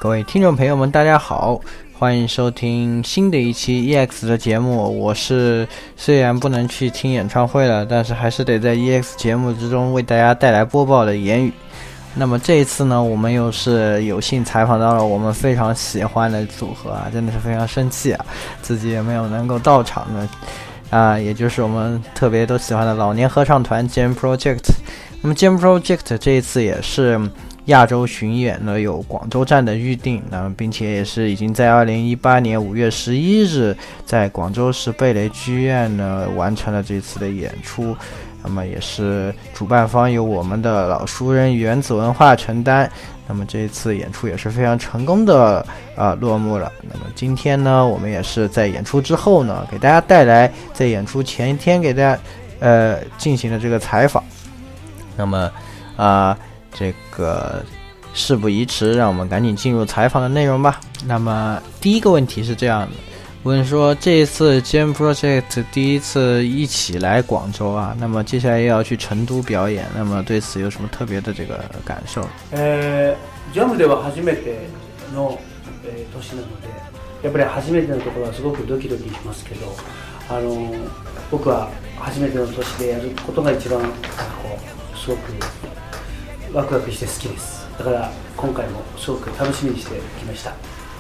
各位听众朋友们大家好，欢迎收听新的一期 EX 的节目。我是虽然不能去听演唱会了，但是还是得在 EX 节目之中为大家带来播报的言语。那么这一次呢，我们又是有幸采访到了我们非常喜欢的组合啊，真的是非常生气啊，自己也没有能够到场的也就是我们特别都喜欢的老年合唱团 Jam Project。那么 Jam Project 这一次也是亚洲巡演呢，有广州站的预定，并且也是已经在2018年5月11日在广州市蓓蕾剧院呢完成了这次的演出。那么也是主办方由我们的老熟人原子文化承担。那么这一次演出也是非常成功的落幕了。那么今天呢，我们也是在演出之后呢，给大家带来在演出前一天给大家进行的这个采访。那么这个事不宜迟，让我们赶紧进入采访的内容吧。那么第一个问题是这样的，问说这一次 Jam Project 第一次一起来广州啊，那么接下来又要去成都表演，那么对此有什么特别的这个感受 ？Jam では初めての年なので、やっぱり初めてのところはすごくドキドキしますけど、僕は初めての年でやることが一番すごくワクワクして好きです。だから今回もすごく楽しみにしてきました。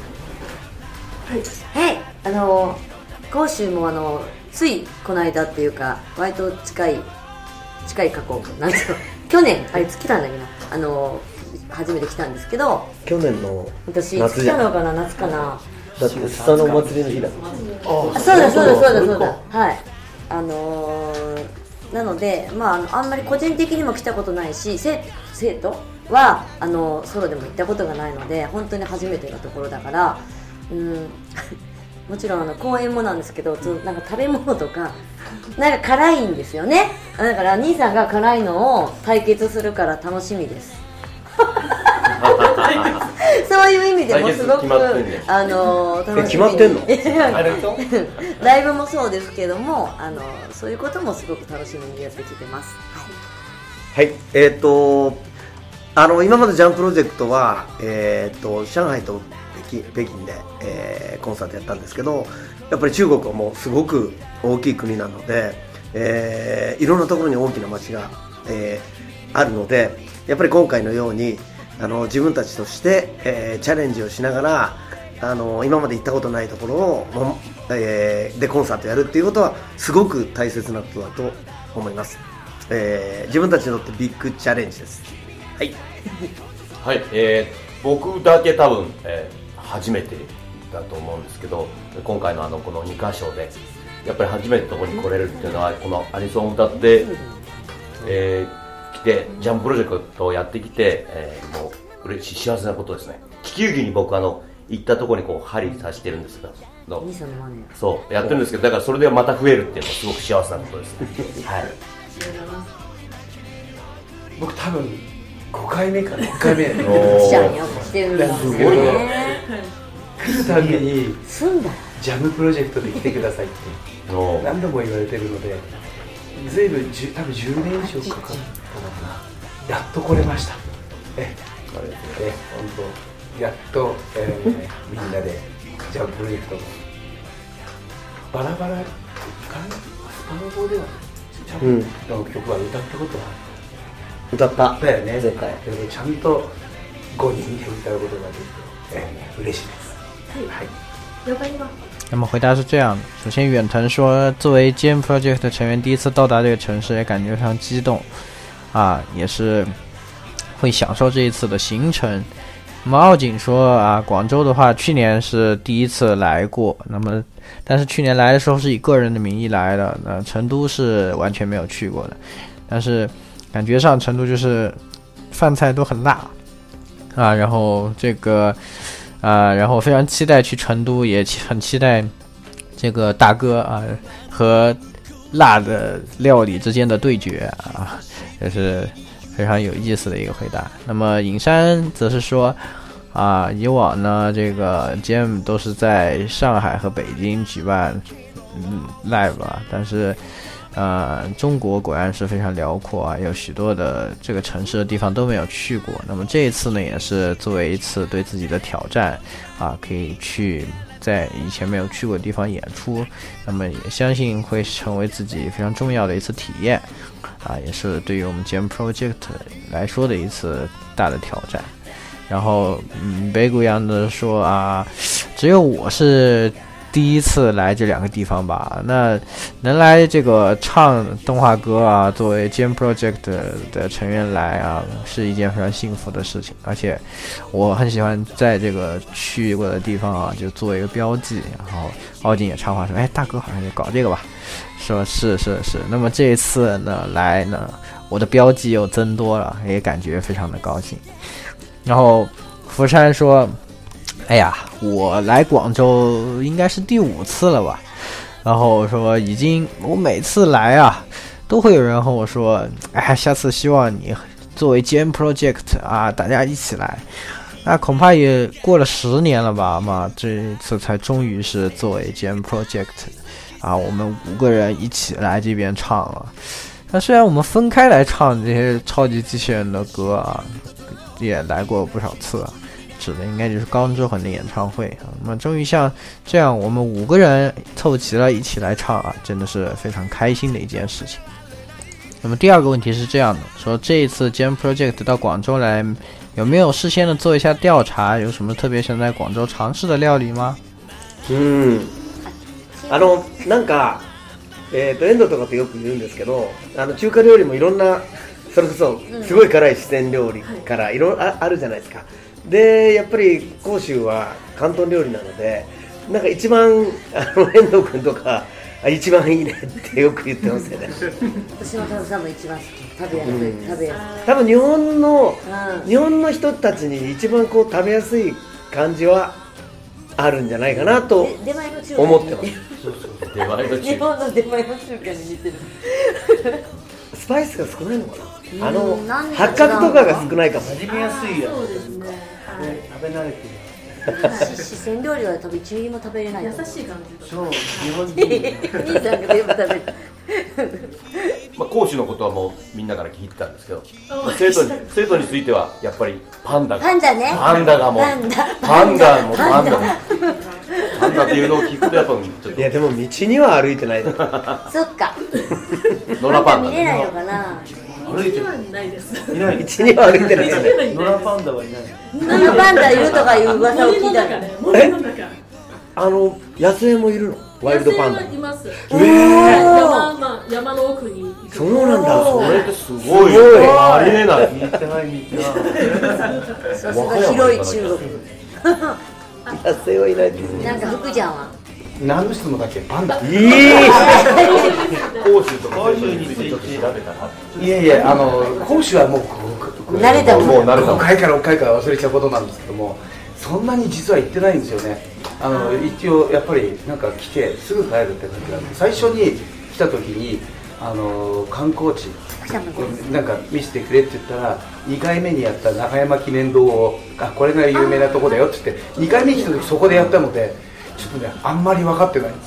はい、広州もついこの間っていうか割と近い過去なんですよ。去年あれ来たんだけど初めて来たんですけど、 去年の私来たのかな、夏かな。 だってスタのお祭りの日だ。 そうだはい。なので、あんまり個人的にも来たことないし、生徒はソロでも行ったことがないので本当に初めてのところだから、もちろん公演もなんですけど、なんか食べ物とかなんか辛いんですよね。だから兄さんが辛いのを対決するから楽しみです。そういう意味でもすごく楽しみに。 決まってんの？ ライブもそうですけども、そういうこともすごく楽しみにやってきてます。 はい、今までジャンプロジェクトは、上海と北京で、コンサートやったんですけど、やっぱり中国はもうすごく大きい国なので、いろんなところに大きな街が、あるので、やっぱり今回のように自分たちとして、チャレンジをしながら今まで行ったことないところを、でコンサートやるっていうことはすごく大切なことだと思います。自分たちにとってビッグチャレンジです。はい、 はい、僕だけ多分、初めてだと思うんですけど、今回のこの2カ所でやっぱり初めてのところに来れるっていうのは、このアニソンを歌って、来てジャンププロジェクトをやってきて、もう嬉しい幸せなことですね。気球儀に僕行ったところに針刺してるんですけど、そうやってるんですけど、だからそれでまた増えるっていうのはすごく幸せなことですね。はい。 僕多分5回目か6回目。 すごいね。 来るたびにジャムプロジェクトで来てくださいって何度も言われてるので、ずいぶん多分10年以上かかったのかな。やっと来れました。本当やっと、みんなでジャンププロジェクトもバラバラかな。スパノボではジャンプの曲は歌ったことは歌っただよね。 絶対。 ちゃんと5人で歌うことができて、嬉しいです。はい。 那么回答是这样的，首先远藤说作为 Jam Project 的成员第一次到达这个城市也感觉非常激动也是会享受这一次的行程。那么奥景说广州的话去年是第一次来过，那么但是去年来的时候是以个人的名义来的，成都是完全没有去过的，但是感觉上成都就是饭菜都很辣然后这个然后非常期待去成都，也很期待这个大哥和辣的料理之间的对决也是非常有意思的一个回答。那么尹山则是说以往呢这个 Jam 都是在上海和北京举办live 但是中国果然是非常辽阔啊，有许多的这个城市的地方都没有去过。那么这一次呢，也是作为一次对自己的挑战啊，可以去在以前没有去过的地方演出。那么也相信会成为自己非常重要的一次体验啊，也是对于我们 Jam Project 来说的一次大的挑战。然后北谷洋的说啊，只有我是第一次来这2个地方吧，那能来这个唱动画歌啊，作为 Jam Project 的成员来啊，是一件非常幸福的事情。而且我很喜欢在这个去过的地方啊，就做一个标记。然后奥景也插话说，哎，大哥好像也搞这个吧，说是。那么这一次呢来呢，我的标记又增多了，也感觉非常的高兴。然后福山说，哎呀，我来广州应该是第5次了吧，然后说我每次来啊，都会有人和我说，哎，下次希望你作为 Jam Project 啊，大家一起来。那恐怕也过了10年了吧嘛，这一次才终于是作为 Jam Project 啊，我们5个人一起来这边唱了。那虽然我们分开来唱这些超级机器人的歌啊，也来过不少次啊，指的应该就是高之魂的演唱会啊。那么终于像这样我们5个人凑齐了一起来唱啊，真的是非常开心的一件事情。那么第2个问题是这样的，说这一次 Jam Project 到广州来，有没有事先的做一下调查，有什么特别想在广州尝试的料理吗？ なんかエンドとかってよく言うんですけど、中華料理もいろんな、それこそすごい辛い四川料理からいろいろあるじゃないですか。でやっぱり広州は広東料理なので、なんか一番遠藤君とか一番いいねってよく言ってますよね。 私も多分一番好き、食べやすい。 多分日本の人たちに一番こう食べやすい感じはあるんじゃないかなと思ってます。 日本の出前の中華に似てる。 スパイスが少ないのかな。八角とかが少ないかも。 味見やすいやつ。 そうですね。 食べ慣れてる。 四川料理は多分1ミリも食べれない。 優しい感じ。 そう、日本人。 兄さんが全部食べる。 講師のことはもうみんなから聞いてたんですけど、生徒についてはやっぱりパンダね。 パンダがもうパンダっていうのを聞くとやっぱちょっと。 いやでも道には歩いてない。 そっか。 野良パンダ見れないのかな。 歩いてないです。 いない。 道には歩いてない。 野良パンダはいない。 野良パンダいるとかいう噂を聞いたの。 森の中。 野生もいるの？ワイルドパンダ。 野生はいます。山の奥に。 そうなんだ。 それってすごい。ありえない。 見てない。 さすが広い中国。 野生はいないですね。 なんか福ちゃんは何の質問だっけ？パンダ。 講師とか講師についてちょっと調べたら。 いやいや、講師はもう慣れたもん。 5回から6回から忘れちゃうことなんですけども、そんなに実は行ってないんですよね。一応やっぱりなんか来てすぐ帰るって感じなんで、最初に来た時に観光地なんか見せてくれって言ったら、2回目にやった中山記念堂をこれが有名なとこだよって言って2回目に来た時そこでやったので、ちょっとねあんまり分かってないんです。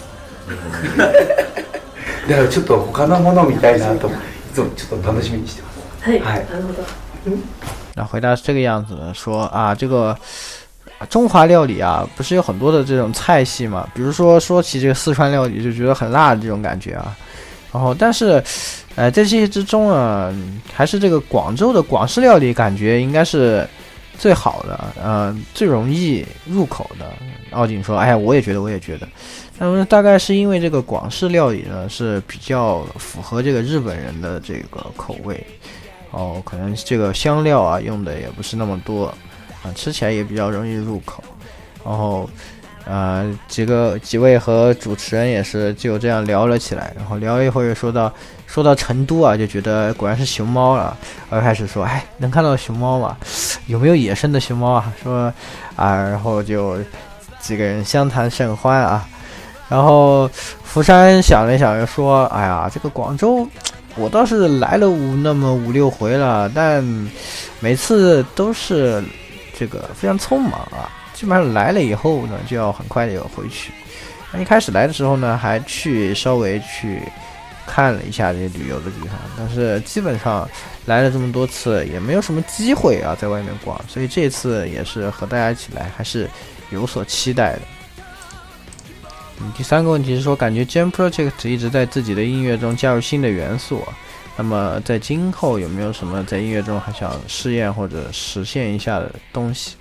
だからちょっと他のもの見たいなといつもちょっと楽しみにしてます。 はい。なるほど。 那回答是这个样子的，说啊，这个中华料理啊，不是有很多的这种菜系嘛？比如说起这个四川料理，就觉得很辣的这种感觉啊。然后，但是，在这些之中啊，还是这个广州的广式料理感觉应该是最好的，最容易入口的。奥景说：“哎呀，我也觉得。那么大概是因为这个广式料理呢是比较符合这个日本人的这个口味，可能这个香料啊用的也不是那么多啊，吃起来也比较容易入口。然后几位和主持人也是就这样聊了起来，然后聊一会儿说到成都啊，就觉得果然是熊猫了。而开始说，哎，能看到熊猫吗？有没有野生的熊猫啊？说然后就几个人相谈甚欢啊。然后福山想了一想，又说，哎呀，这个广州我倒是来了那么5-6回了，但每次都是这个非常匆忙啊。基本上来了以后呢，就要很快的回去。那一开始来的时候呢，还稍微去看了一下这些旅游的地方，但是基本上来了这么多次也没有什么机会啊在外面逛，所以这次也是和大家一起来还是有所期待的。第三个问题是说，感觉 Jam Project 一直在自己的音乐中加入新的元素，那么在今后有没有什么在音乐中还想试验或者实现一下的东西？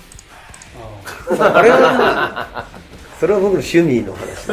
それは僕の趣味の話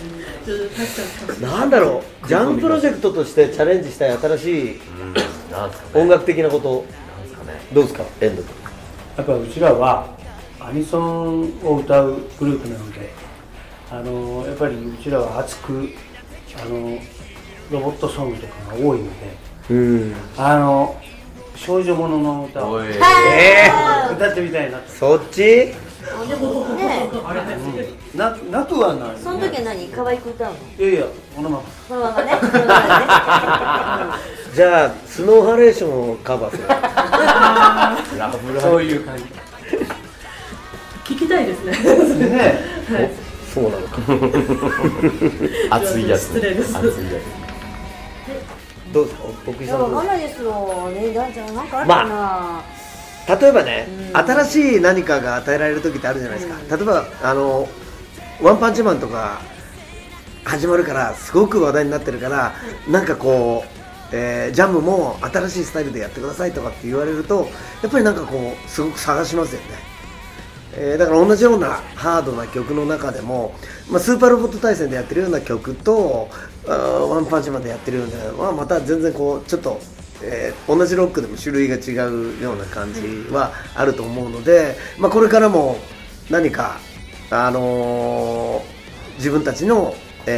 なんだろう、ジャンプロジェクトとしてチャレンジしたい新しい音楽的なことどうですか、遠藤君。 やっぱうちらはアニソンを歌うグループなので、やっぱりうちらは熱くロボットソングとかが多いので、少女ものの歌を歌ってみたいな。 そっちでもね、 なくはない。 その時は何、可愛く歌うの？ いやいや、このまま。 そのままね。そのままね。 じゃあスノーハレーションをカバーするそういう感じ。 聞きたいですね。 ね、 そうなのか熱いやつ。 失礼です。 熱いやどうですか、僕井いさんどうですか。 やわかんないですよね。なんかあるかな。 例えばね、新しい何かが与えられる時ってあるじゃないですか。例えばワンパンチマンとか始まるからすごく話題になってるから、なんかこう、ジャムも新しいスタイルでやってくださいとかって言われると、やっぱりなんかこうすごく探しますよね。だから同じようなハードな曲の中でも、スーパーロボット対戦でやってるような曲とワンパンチマンでやってるようなのはまた全然こうちょっと、同じロックでも種類が違うような感じはあると思うので、これからも何か、自分たちの、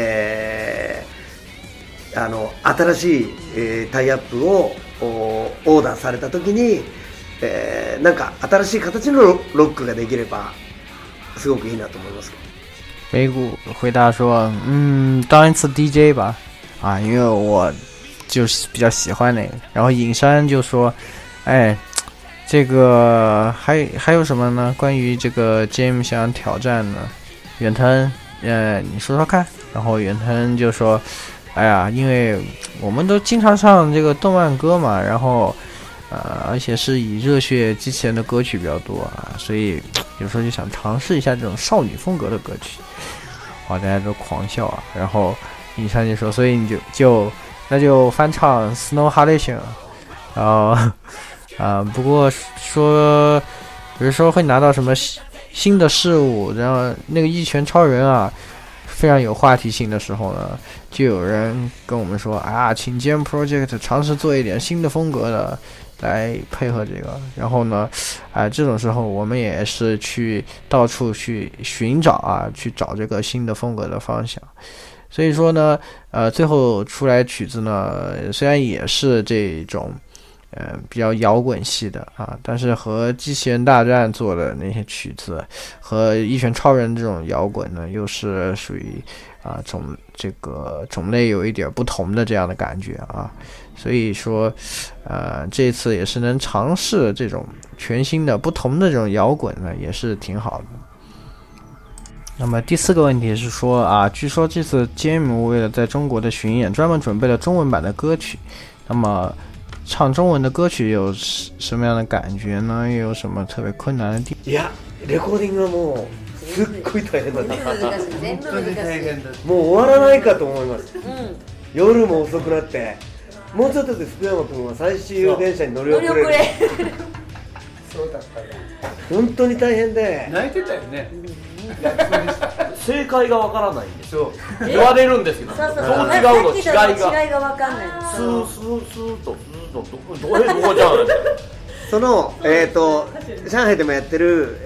新しい、タイアップをオーダーされた時に、なんか新しい形のロックができればすごくいいなと思います。 美谷回答说，当一次 DJ 吧，因为我就是比较喜欢那个。然后尹山就说，这个还有什么呢？关于这个 Jam 想挑战呢？远藤，你说说看。然后远藤就说，因为我们都经常唱这个动漫歌嘛，然后而且是以热血机器人的歌曲比较多啊，所以有时候就想尝试一下这种少女风格的歌曲。大家都狂笑啊。然后尹山就说，所以你那就翻唱 Snow Halation， 然后不过说比如说会拿到什么新的事物，然后那个一拳超人啊非常有话题性的时候呢，就有人跟我们说请 Jam Project 尝试做一点新的风格的来配合这个。然后呢这种时候我们也是去到处去寻找去找这个新的风格的方向。所以说呢最后出来曲子呢虽然也是这种比较摇滚系的但是和机器人大战做的那些曲子和一拳超人这种摇滚呢又是属于这个种类有一点不同的这样的感觉所以说这次也是能尝试这种全新的不同的这种摇滚呢也是挺好的。那么第四个问题是说据说这次 Jam 为了在中国的巡演专门准备了中文版的歌曲，那么唱中文的歌曲有什么样的感觉呢？又有什么特别困难的地方？ いや、レコーディングはもうすっごい大変だった。 全部難しい。 もう終わらないかと思います。夜も遅くなって、もうちょっとで福山君は最終電車に乗り遅れる。 そうだったね。 本当に大変で。 泣いてたよね。 正解がわからないんですよ。言われるんですよ。 そうどう違うの違いが。 違いがわかんない。 スーとどこじゃん。 その上海でもやってる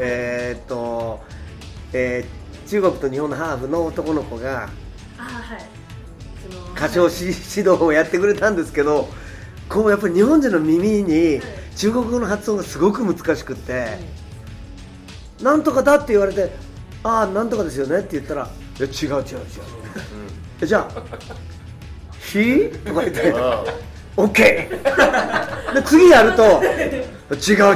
中国と日本のハーフの男の子が歌唱指導をやってくれたんですけど、こうやっぱり日本人の耳に中国語の発音がすごく難しくって、なんとかだって言われて、なんとかですよねって言ったら、いや違う、じゃあひとか言ってオッケーで次やると違う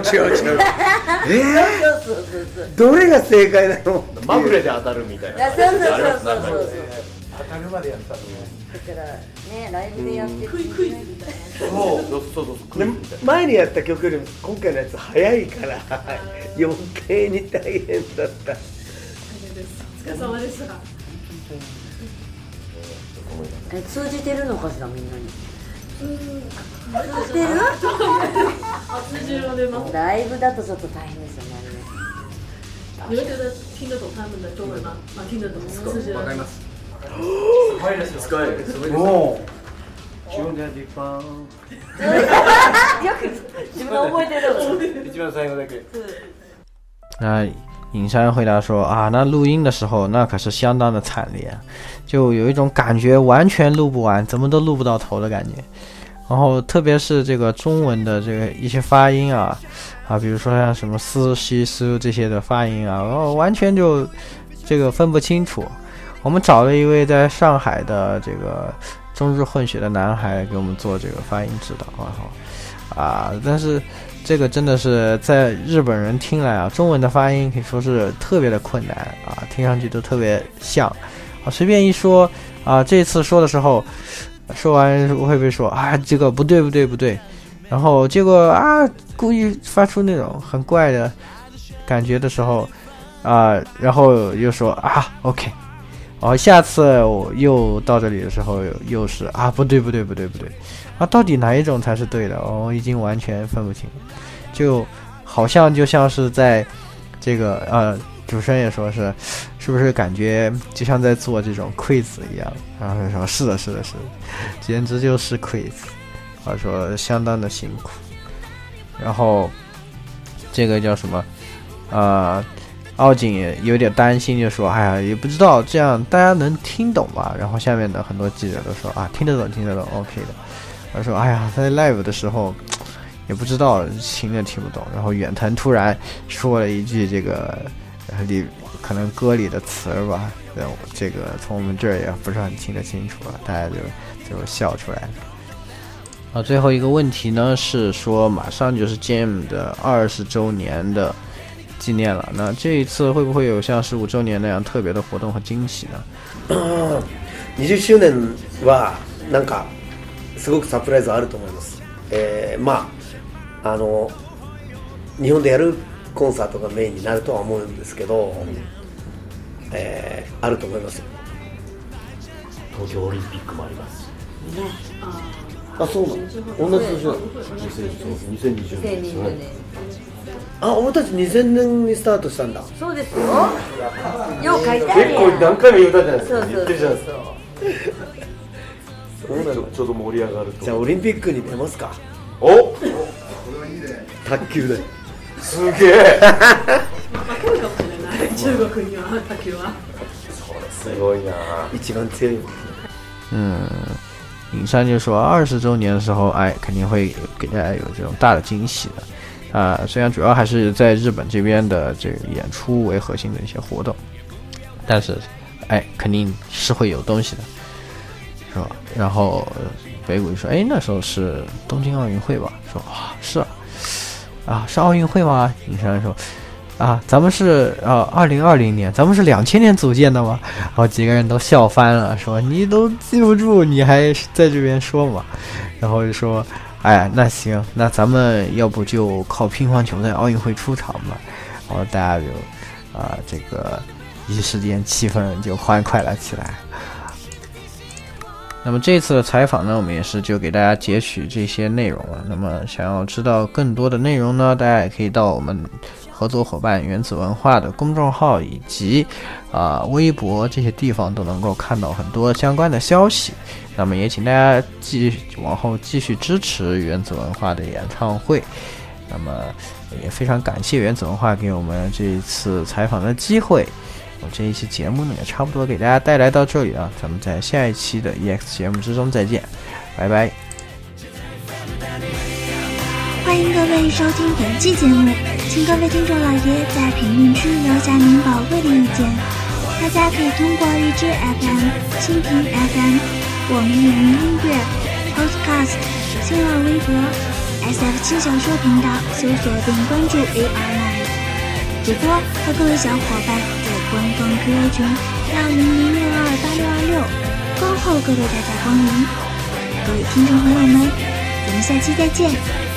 どれが正解なのまぐれで当たるみたいな。 そう当たるまでやったのね。 だからねライブでやってるクイズみたいな。 そうで前にやった曲よりも今回のやつ早いから余計に大変だった。 お疲れ様でした。 通じてるのかしらみんなに。 通じる吗？ ライブだとちょっと大変ですよね。 你会觉得听得懂他们的中文吗？啊，听得懂，通じる。 わかります。すごいですよ。すごいです。もう。中音で一番。 よく自分覚えてる。 一番最後だけ。 那尹山回答说啊，那录音的时候那可是相当的惨烈，就有一种感觉完全录不完，怎么都录不到头的感觉。然后特别是这个中文的这个一些发音啊，比如说像什么斯西斯这些的发音啊，完全就这个分不清楚。我们找了一位在上海的这个中日混血的男孩给我们做这个发音指导但是这个真的是在日本人听来啊，中文的发音可以说是特别的困难啊，听上去都特别像随便一说这次说的时候，说完会不会说这个不对，然后结果故意发出那种很怪的感觉的时候然后又说OK， 下次我又到这里的时候又是不对到底哪一种才是对的我已经完全分不清，就好像就像是在这个主持人也说是不是感觉就像在做这种 quiz 一样，然后说是的，简直就是 quiz， 说相当的辛苦。然后这个叫什么奥景也有点担心，就说也不知道这样大家能听懂吧。然后下面的很多记者都说听得懂 OK 的。他说在 live 的时候也不知道听不懂。然后远藤突然说了一句这个可能歌里的词吧，这个从我们这儿也不是很听得清楚大家就笑出来了。最后一个问题呢是说马上就是 Jam 的20周年的纪念了，那这一次会不会有像15周年那样特别的活动和惊喜呢 ？20周年はなんかすごくサプライズあると思います。日本でやるコンサートがメインになるとは思うんですけど、あると思いますよ。 東京オリンピックもありますそうなの？同じ年なの？2020年ですね。俺たち2000年にスタートしたんだ。 そうですよ。よう書いてあるやん。 結構何回も言ったじゃないですか。 そう言ってるじゃないですか。 ちょうど盛り上がると。じゃあオリンピックに出ますか。卓球で。 すげえ。 来るかもしれない。中国には卓球は。 すごいな。 一番強い。 尹山就说20周年的时候肯定会给大家有这种大的惊喜的虽然主要还是在日本这边的这个演出为核心的一些活动，但是肯定是会有东西的，是吧？然后北谷就说那时候是东京奥运会吧，说是是奥运会吗？尹山说咱们是2020年，咱们是2000年组建的吗？然后几个人都笑翻了，说你都记不住，你还在这边说嘛？然后就说那行，那咱们要不就靠乒乓球在奥运会出场吧？然后大家就这个一时间气氛就欢快了起来。那么这次的采访呢，我们也是就给大家截取这些内容了。那么想要知道更多的内容呢，大家也可以到我们合作伙伴原子文化的公众号以及微博这些地方都能够看到很多相关的消息。那么也请大家往后继续支持原子文化的演唱会。那么也非常感谢原子文化给我们这一次采访的机会。我这一期节目呢也差不多给大家带来到这里了，咱们在下一期的 EX 节目之中再见，拜拜。 欢迎各位收听本期节目，请各位听众老爷在评论区留下您宝贵的意见。大家可以通过荔枝 FM、蜻蜓 FM、我们有音乐、Podcast、新浪微博、SF7小说频道搜索并关注 AR9。主播和各位小伙伴在官方QQ群200628626 各位大驾光临，各位听众朋友们，咱们下期再见。